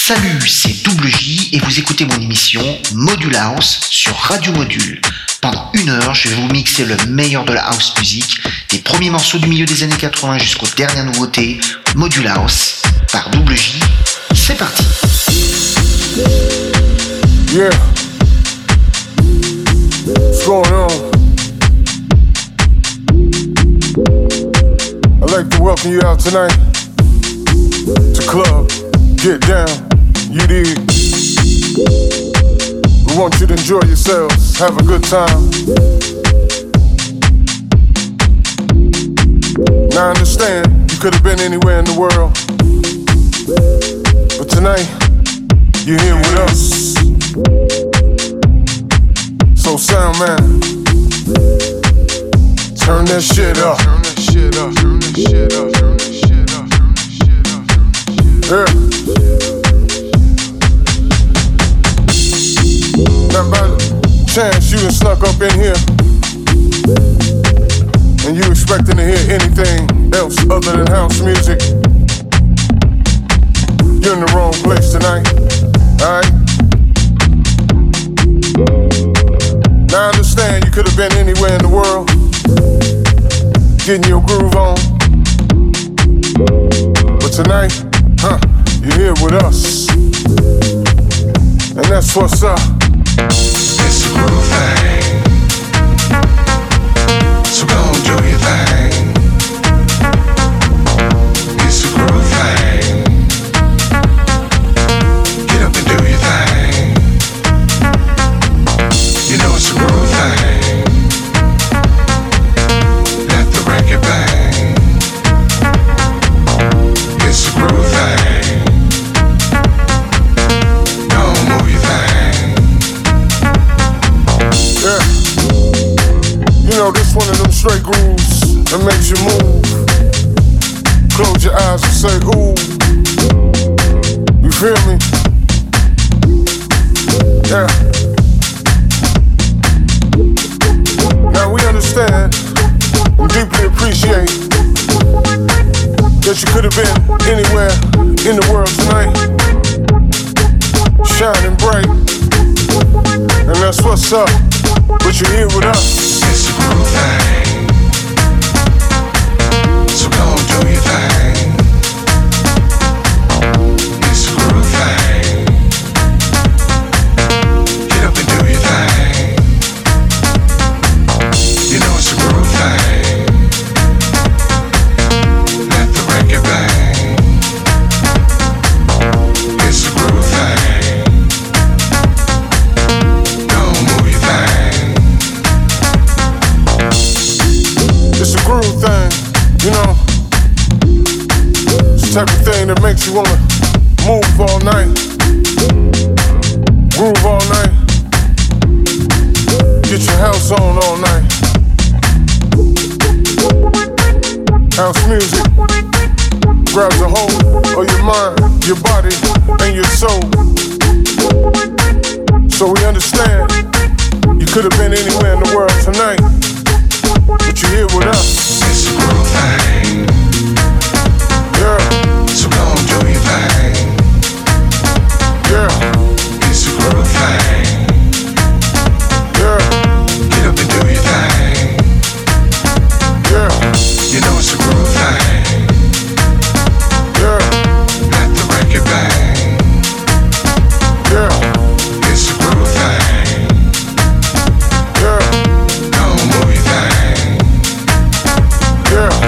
Salut, c'est Double J et vous écoutez mon émission Module House sur Radio Module. Pendant 1 heure, je vais vous mixer le meilleur de la house music, des premiers morceaux du milieu des années 80 jusqu'aux dernières nouveautés. Module House par Double J. C'est parti. Yeah. What's going on? I'd like to welcome you out tonight to Club Get Down. You dig? We want you to enjoy yourselves, have a good time. Now I understand you could have been anywhere in the world, but tonight you're here with us. So sound man, turn that shit up. Turn that shit up. Turn that shit up. Turn that shit up. Turn that shit up. Turn that shit up. Yeah. Now by chance you done snuck up in here, and you expecting to hear anything else other than house music, you're in the wrong place tonight. Alright? Now I understand you could have been anywhere in the world, getting your groove on, but tonight, you're here with us, and that's what's up. It's a groove thing, so go and do your thing. It's a groove thing, get up and do your thing. You know it's a groove thing, let the record bang. It's a groove thing, go and move your thing. Yeah. You know, this one of them straight grooves that makes you move. Close your eyes and say, ooh. You feel me? Yeah. Now we understand and deeply appreciate that you could have been anywhere in the world tonight, shining bright, and that's what's up. But you're here with us. It's a groove thing, so go and do your thing. It's a groove thing, get up and do your thing. You know it's a groove thing, let the record bang. It's a groove thing, go and move your thing. It's a groove thing, you know. It's the type of thing that makes you wanna move all night, groove all night, get your house on all night. House music grabs a hold of your mind, your body, and your soul. So we understand you could have been anywhere in the world tonight, but you're here with us. It's a groove thing, Yeah, so go and do your thing. yeah, It's a groove thing, yeah, get up and do your thing. yeah, You know it's a groove thing, yeah, let the record bang. yeah, It's a groove thing, yeah, go and move your thing. yeah.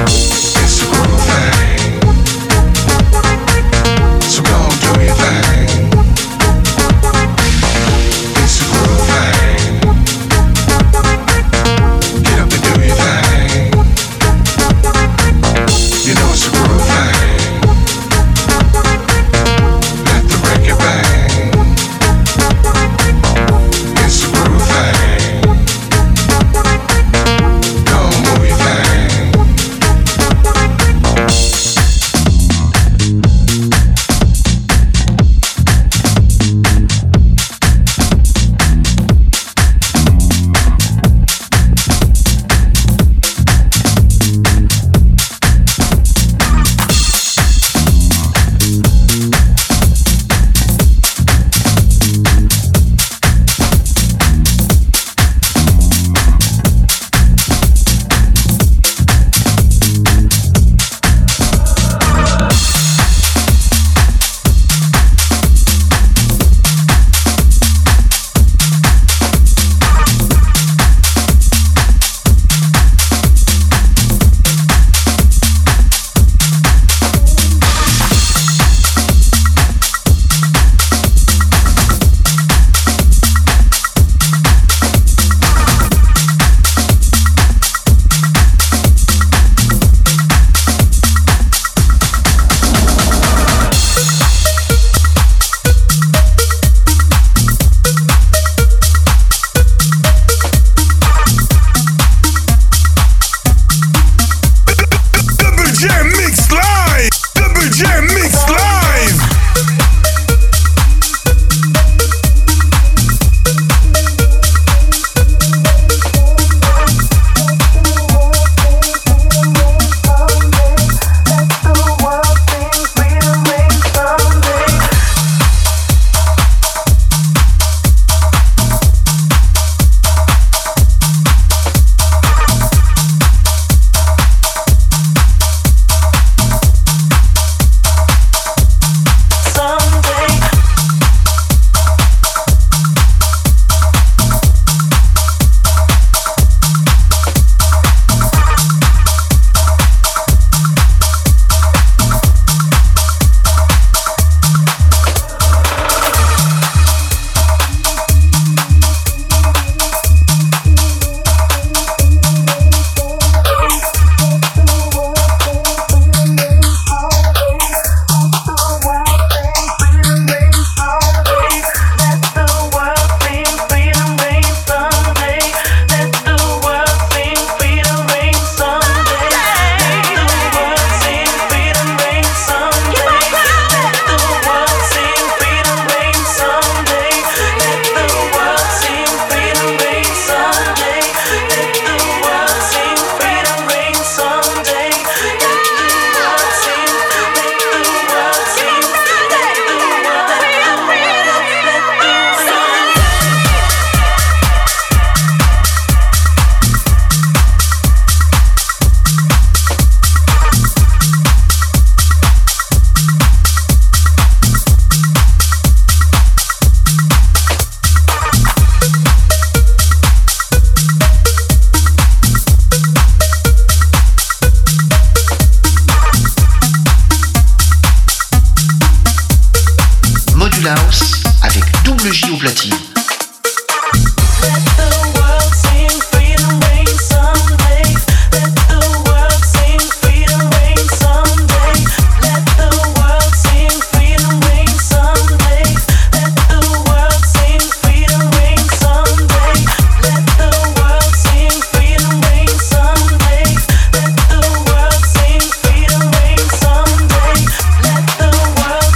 Module House avec Double J au platine.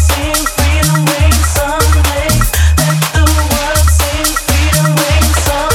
Someday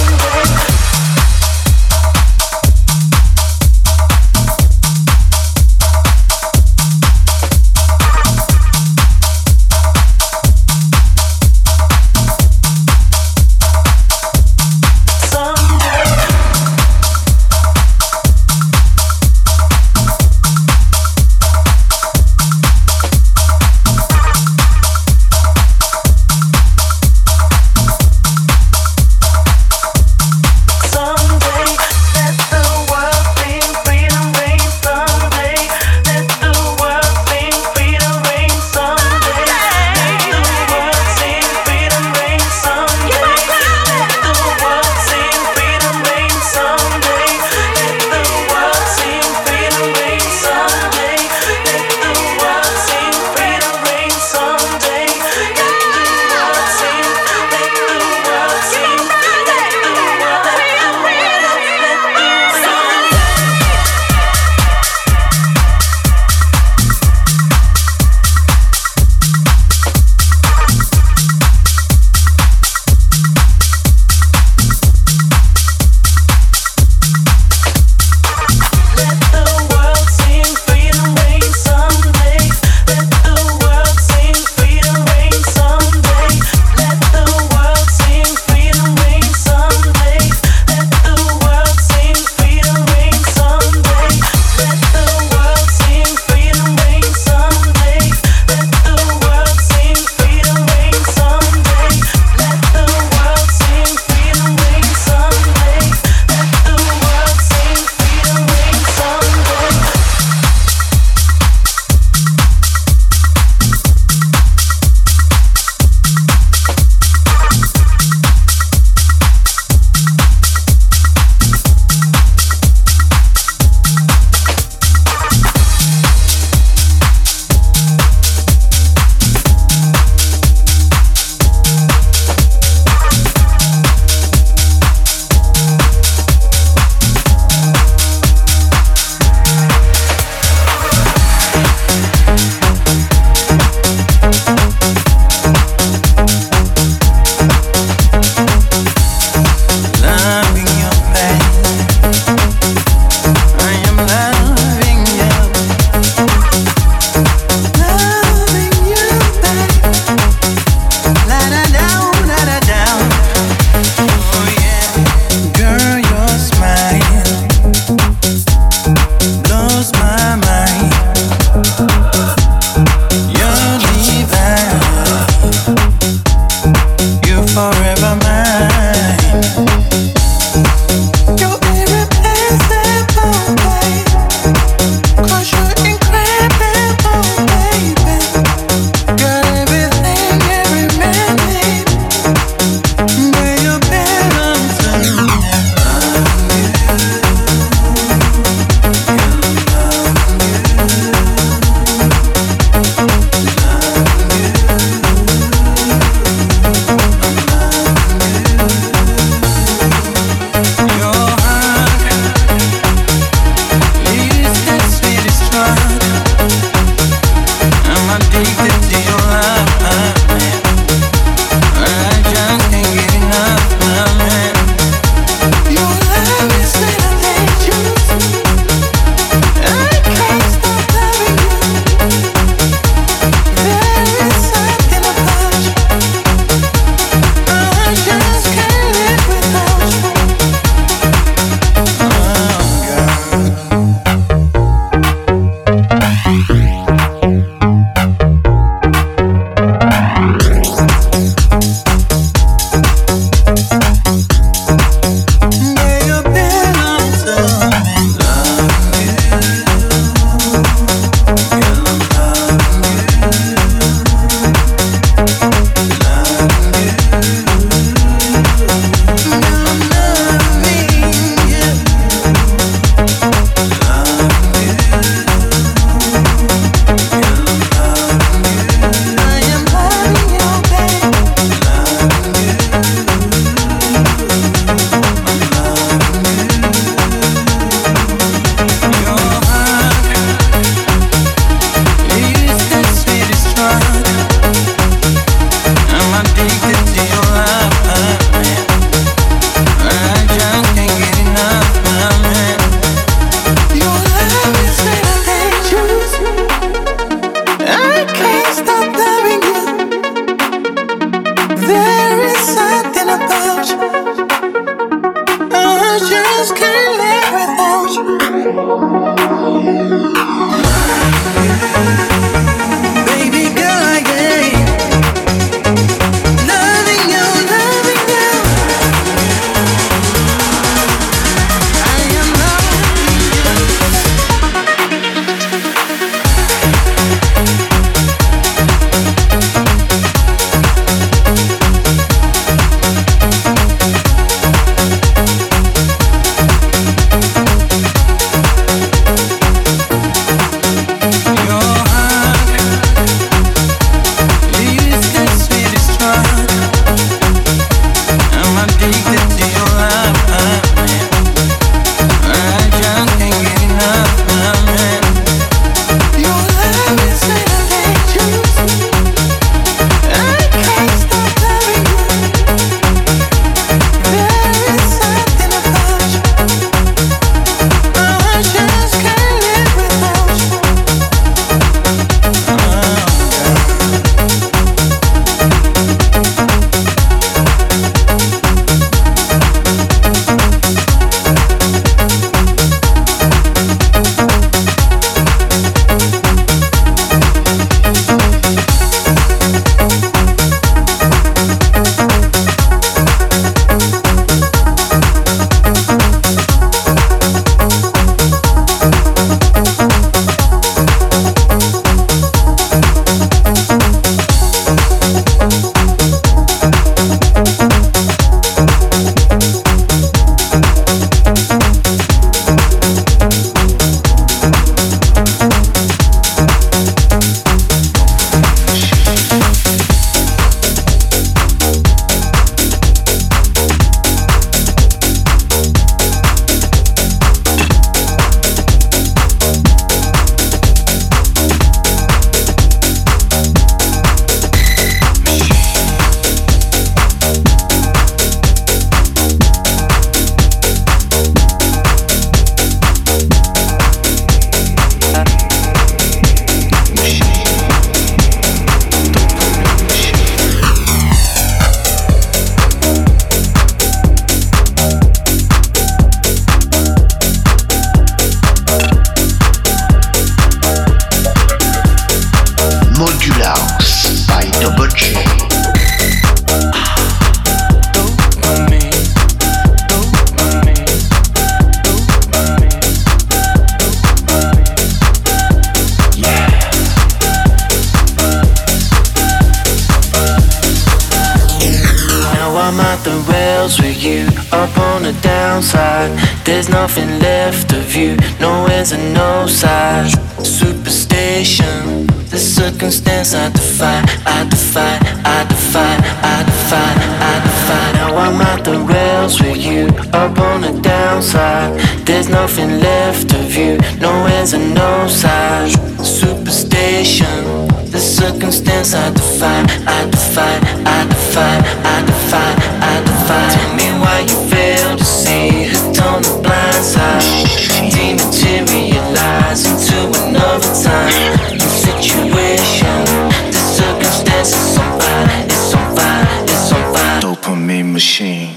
I'm at the rails with you, up on the downside. There's nothing left of you, nowhere's a no side. Superstition, the circumstance I defy, I defy, I defy, I defy, I defy. Now I'm at the rails with you, up on the downside. There's nothing left of you, nowhere's a no side. Superstition, the circumstance I defy, I defy, I defy, I defy, I defy. Tell me why you fail to see hooked on the blind side. Dematerialize into another time. New situation, the circumstance is on fire, it's on fire, it's on fire. Dopamine machine.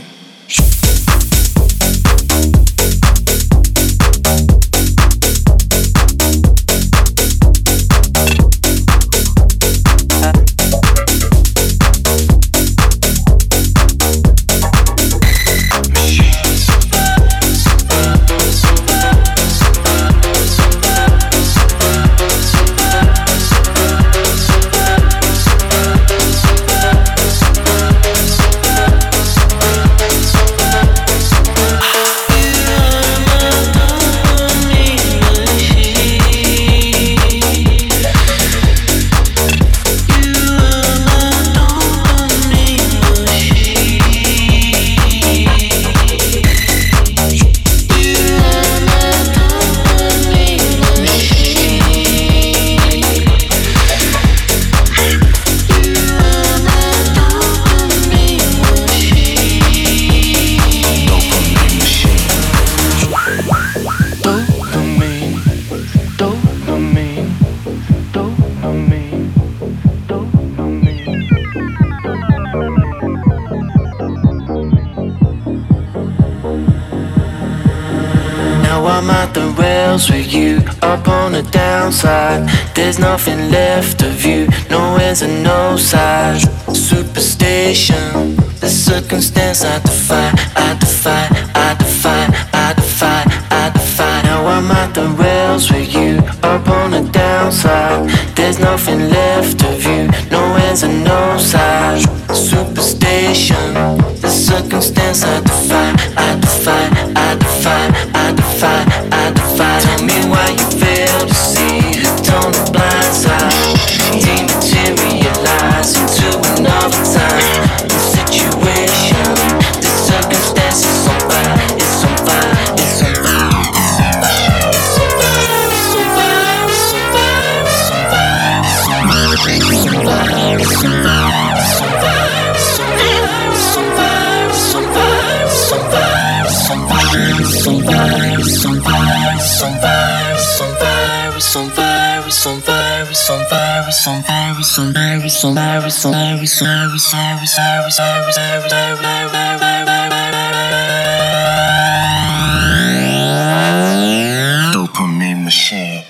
With you up on the downside. There's nothing left of you, nowhere's a no side. Superstition, the circumstance I defy, I defy, I defy, I defy, I defy. Now I'm at the rails with you up on the downside. There's nothing left of you, nowhere's a no side. Superstition, the circumstance I defy, I defy, I defy, I defy, I defy. Tell me why you fail to see hooked on the blind side. Dematerialize into another time. The situation, the circumstance is on fire, it's on fire, it's on fire. Dopamine machine.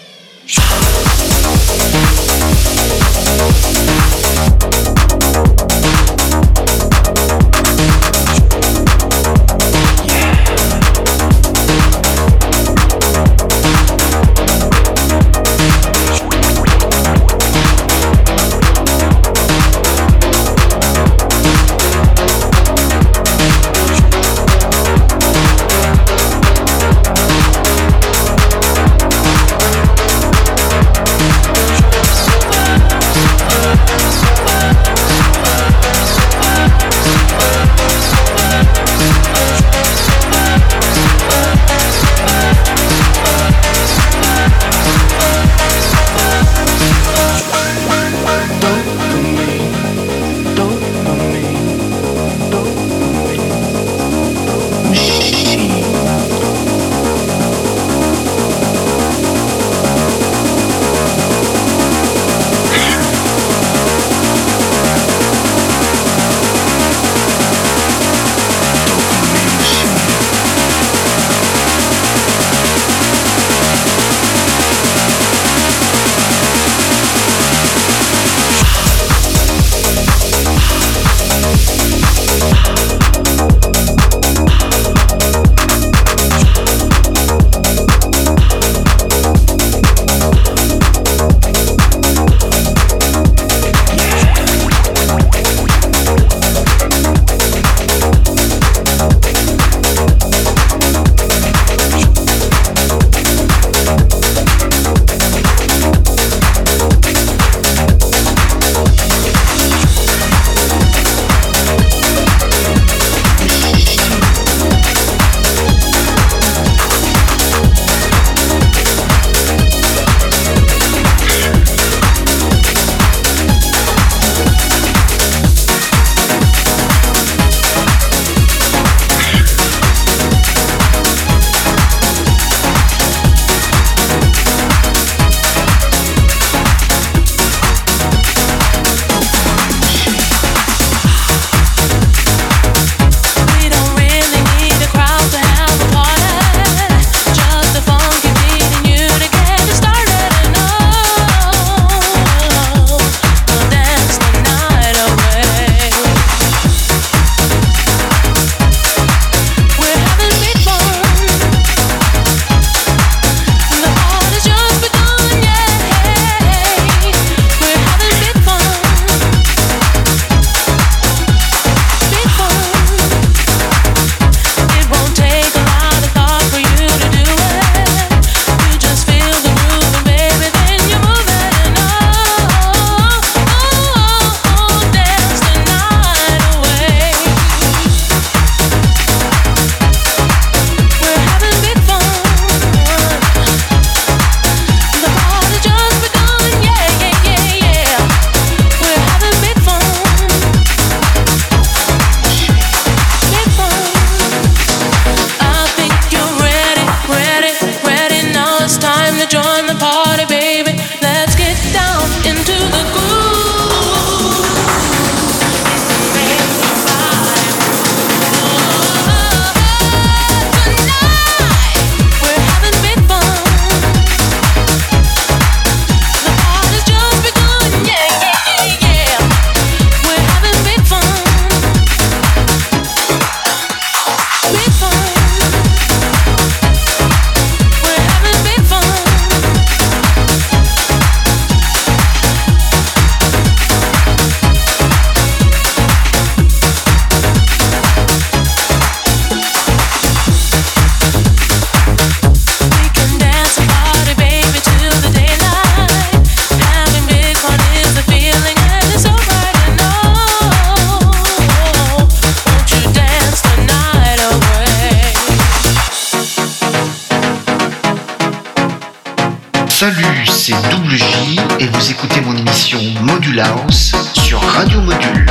Salut, c'est Double J et vous écoutez mon émission Module House sur Radio Module.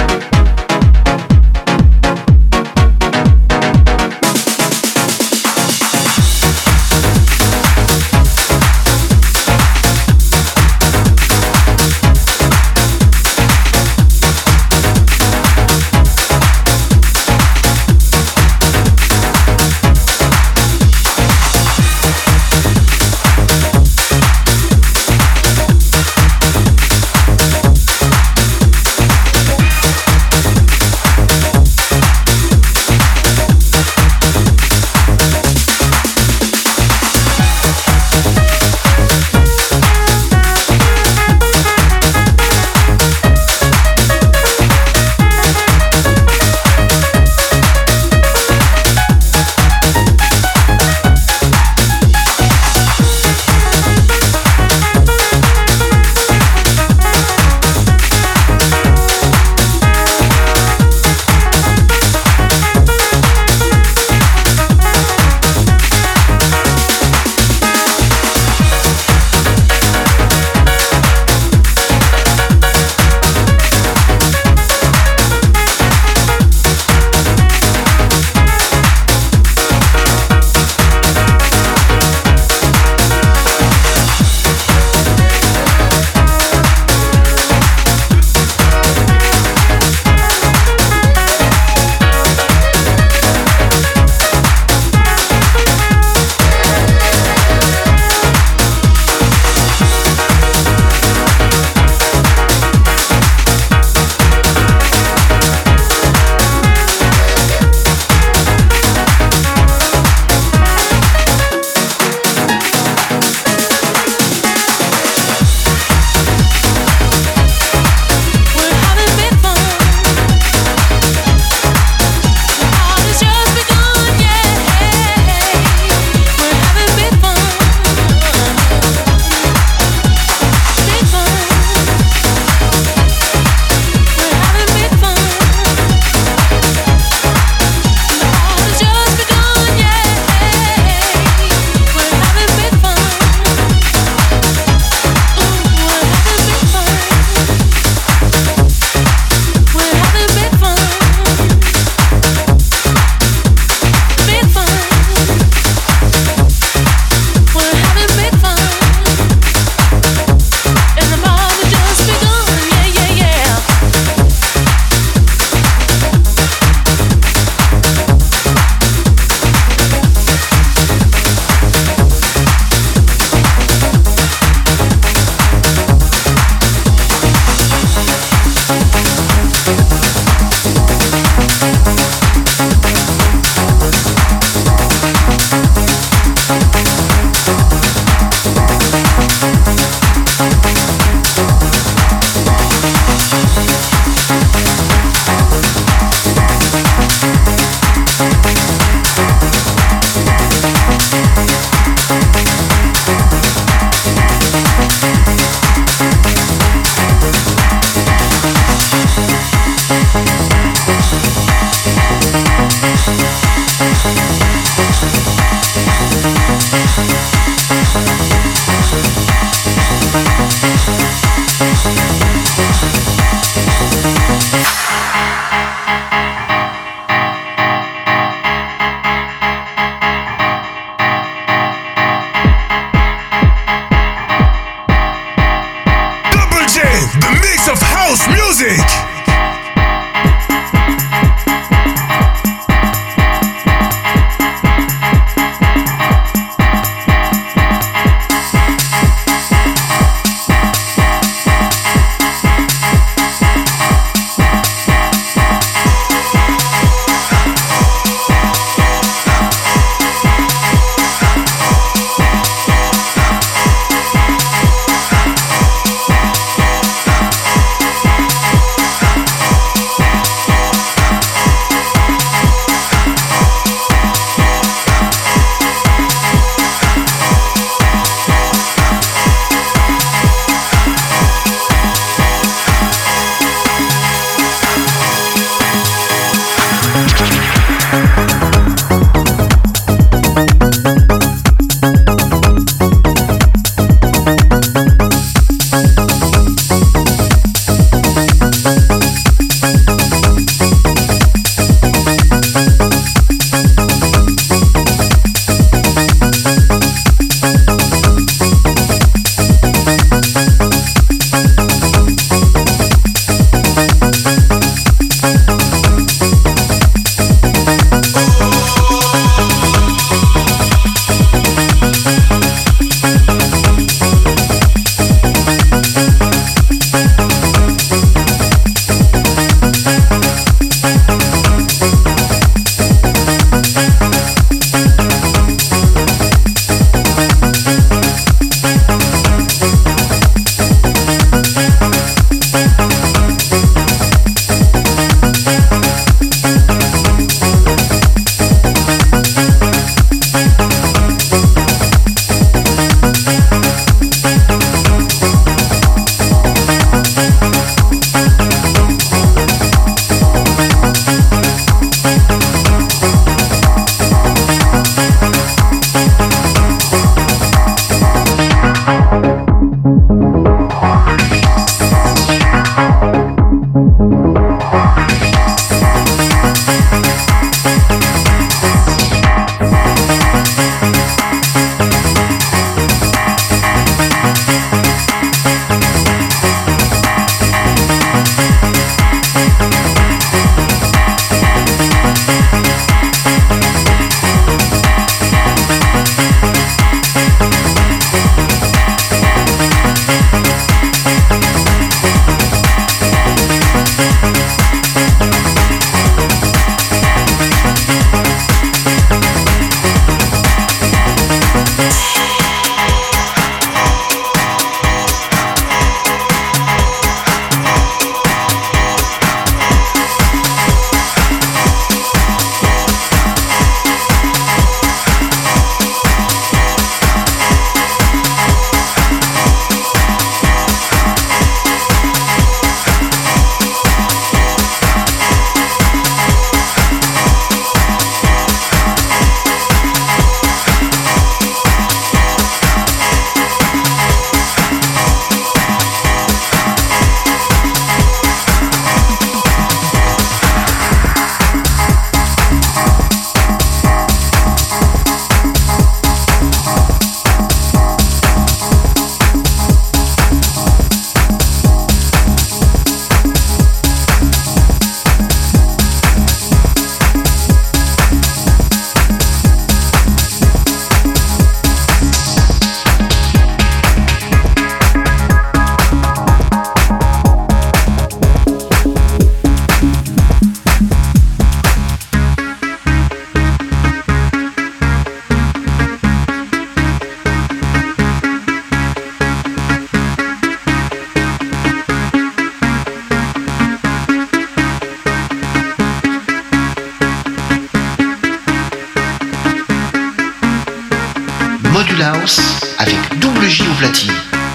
Module House avec Double J au platine.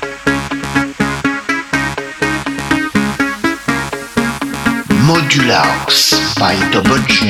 Module House by Double J.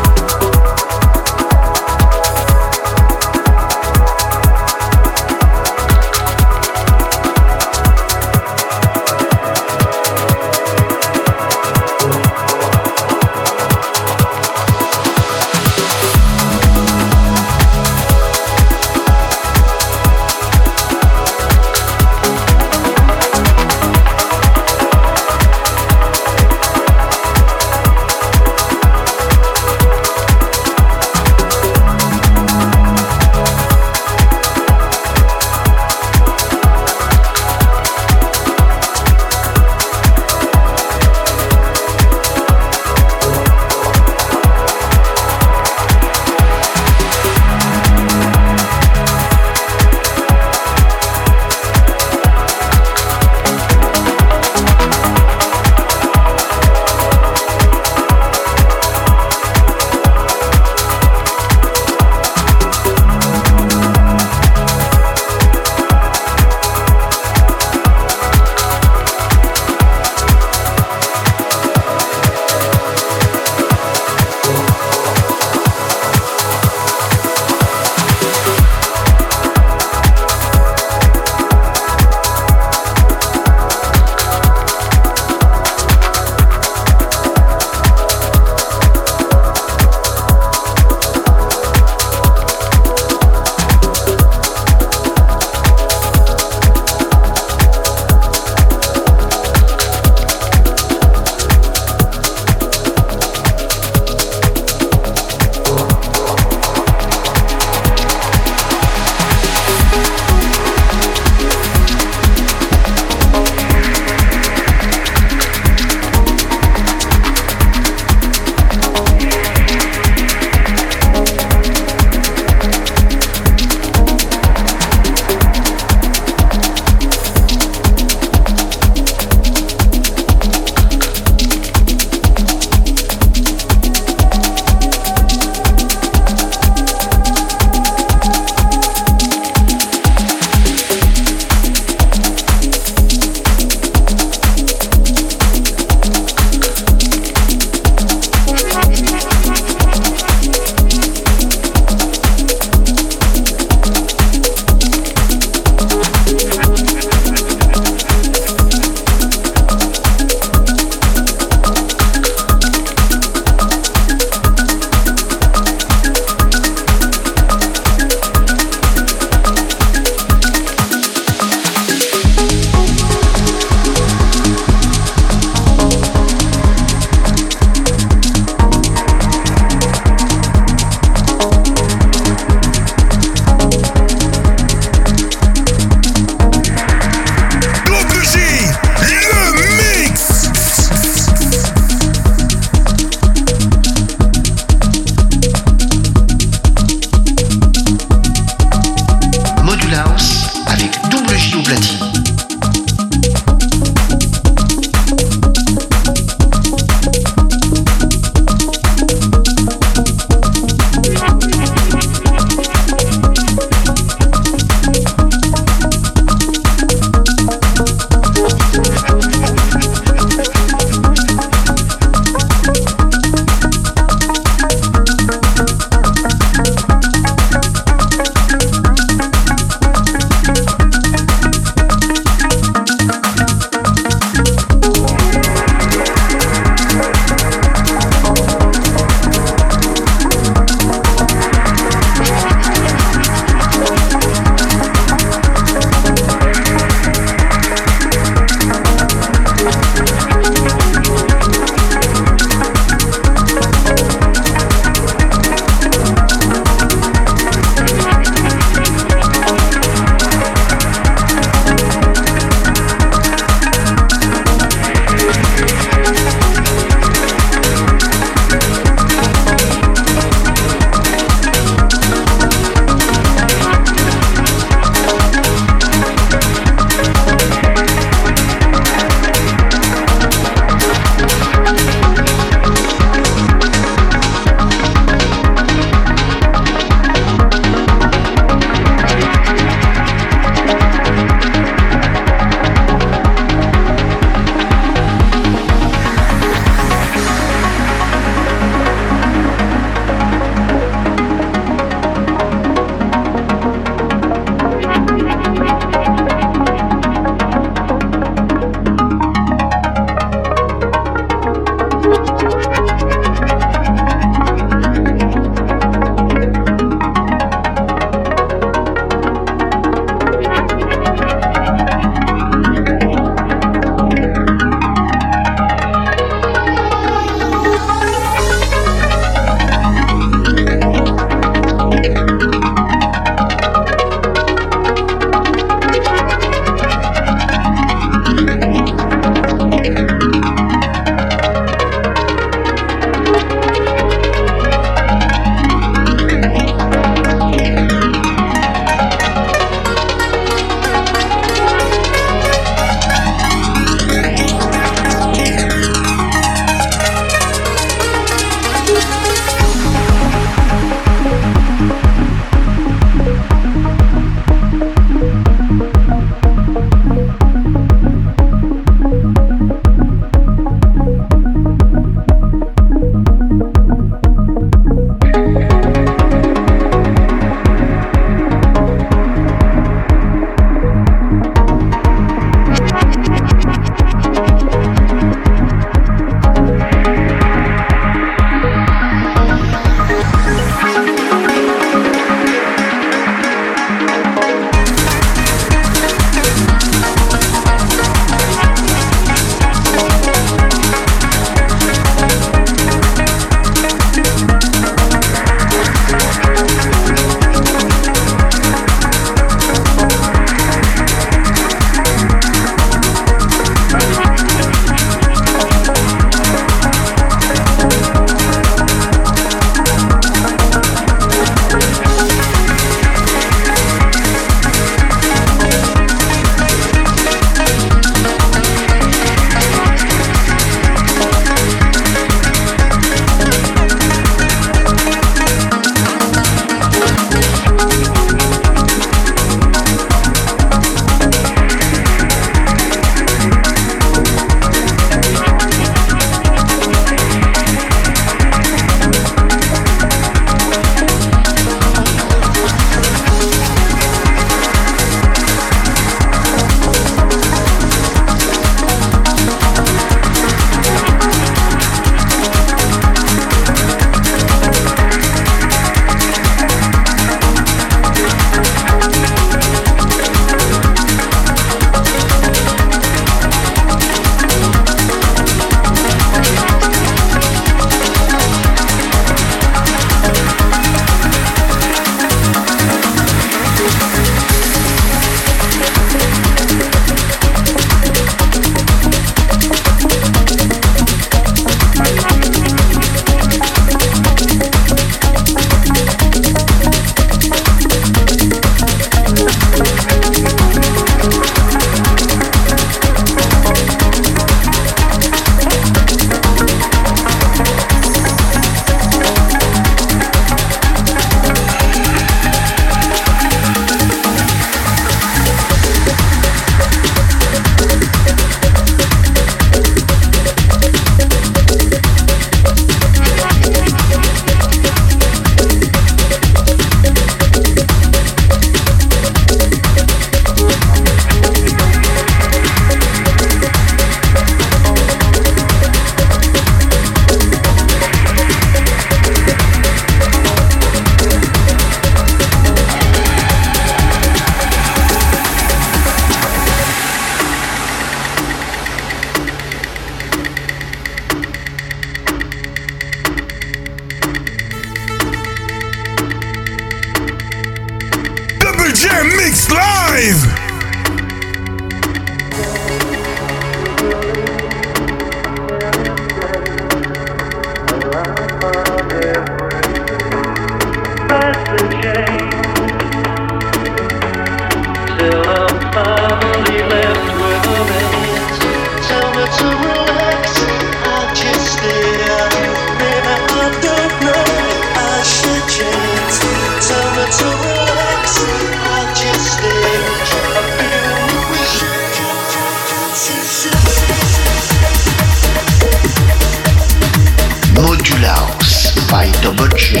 Modulhouse by Double J.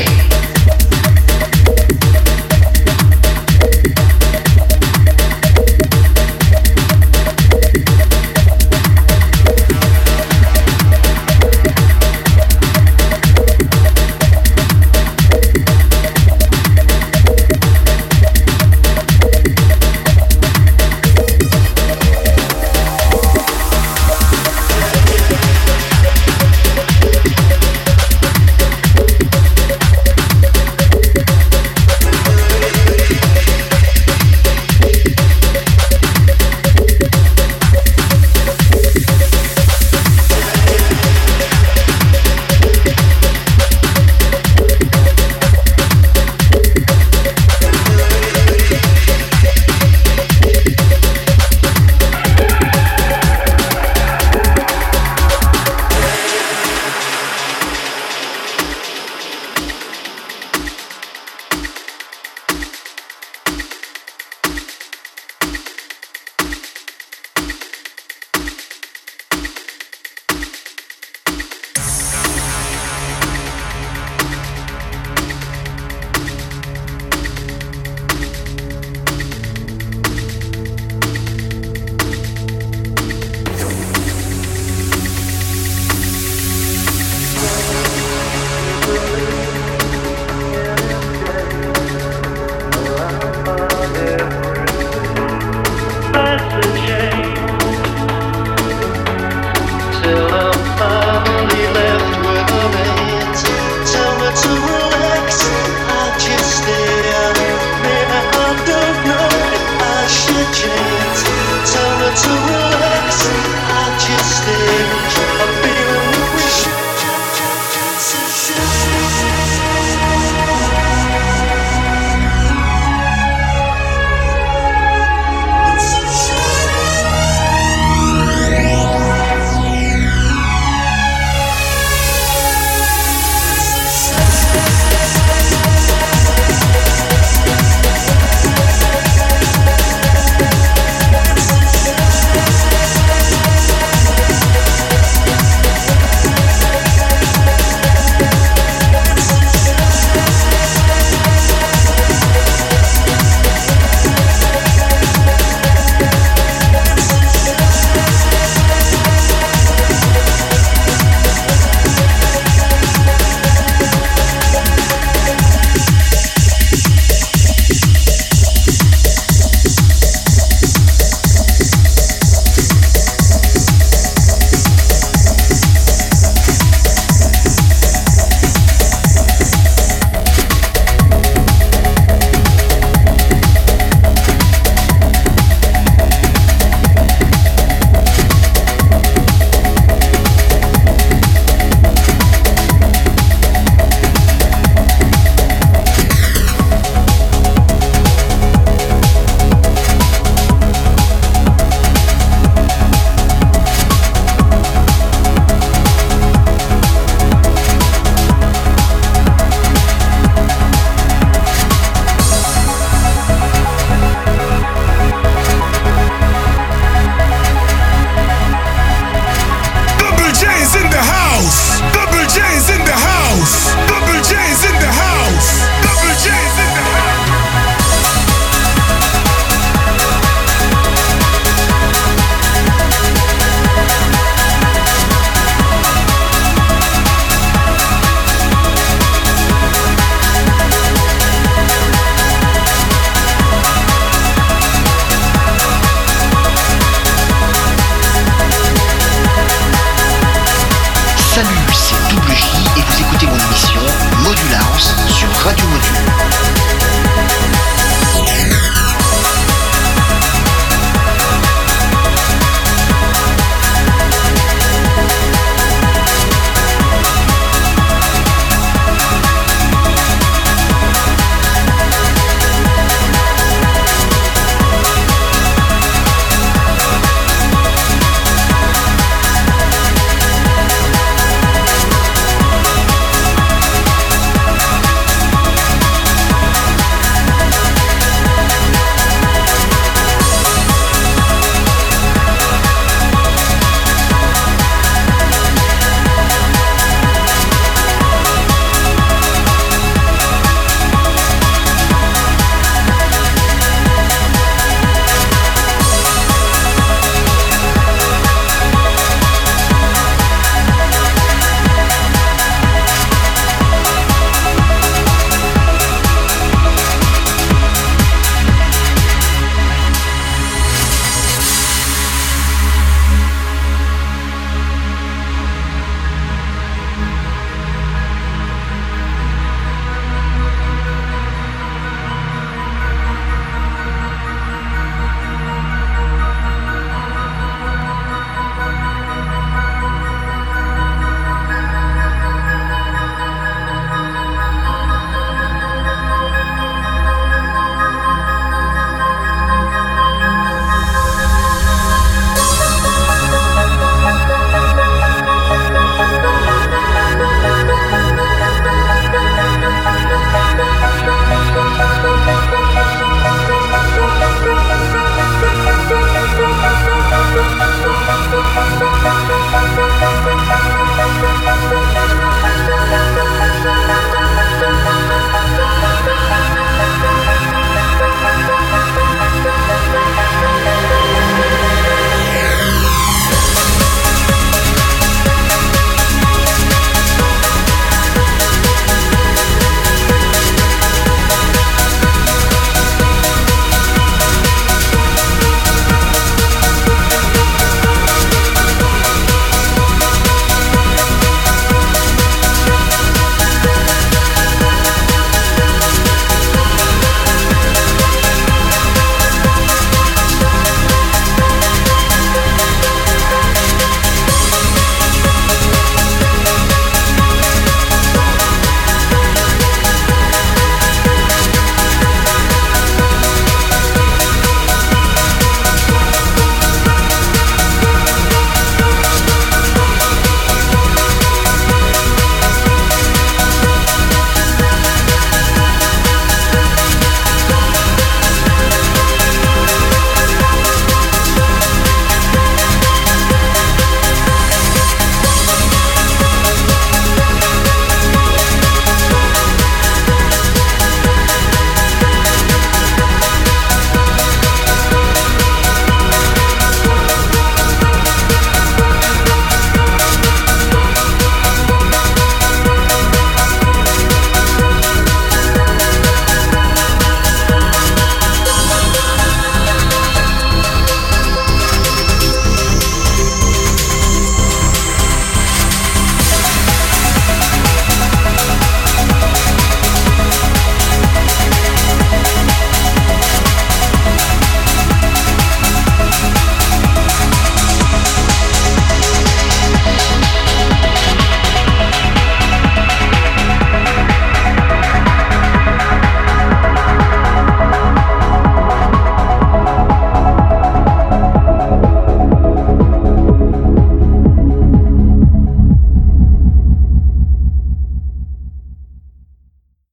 Salut, c'est Double J et vous écoutez mon émission Modulhouse sur Radio Module.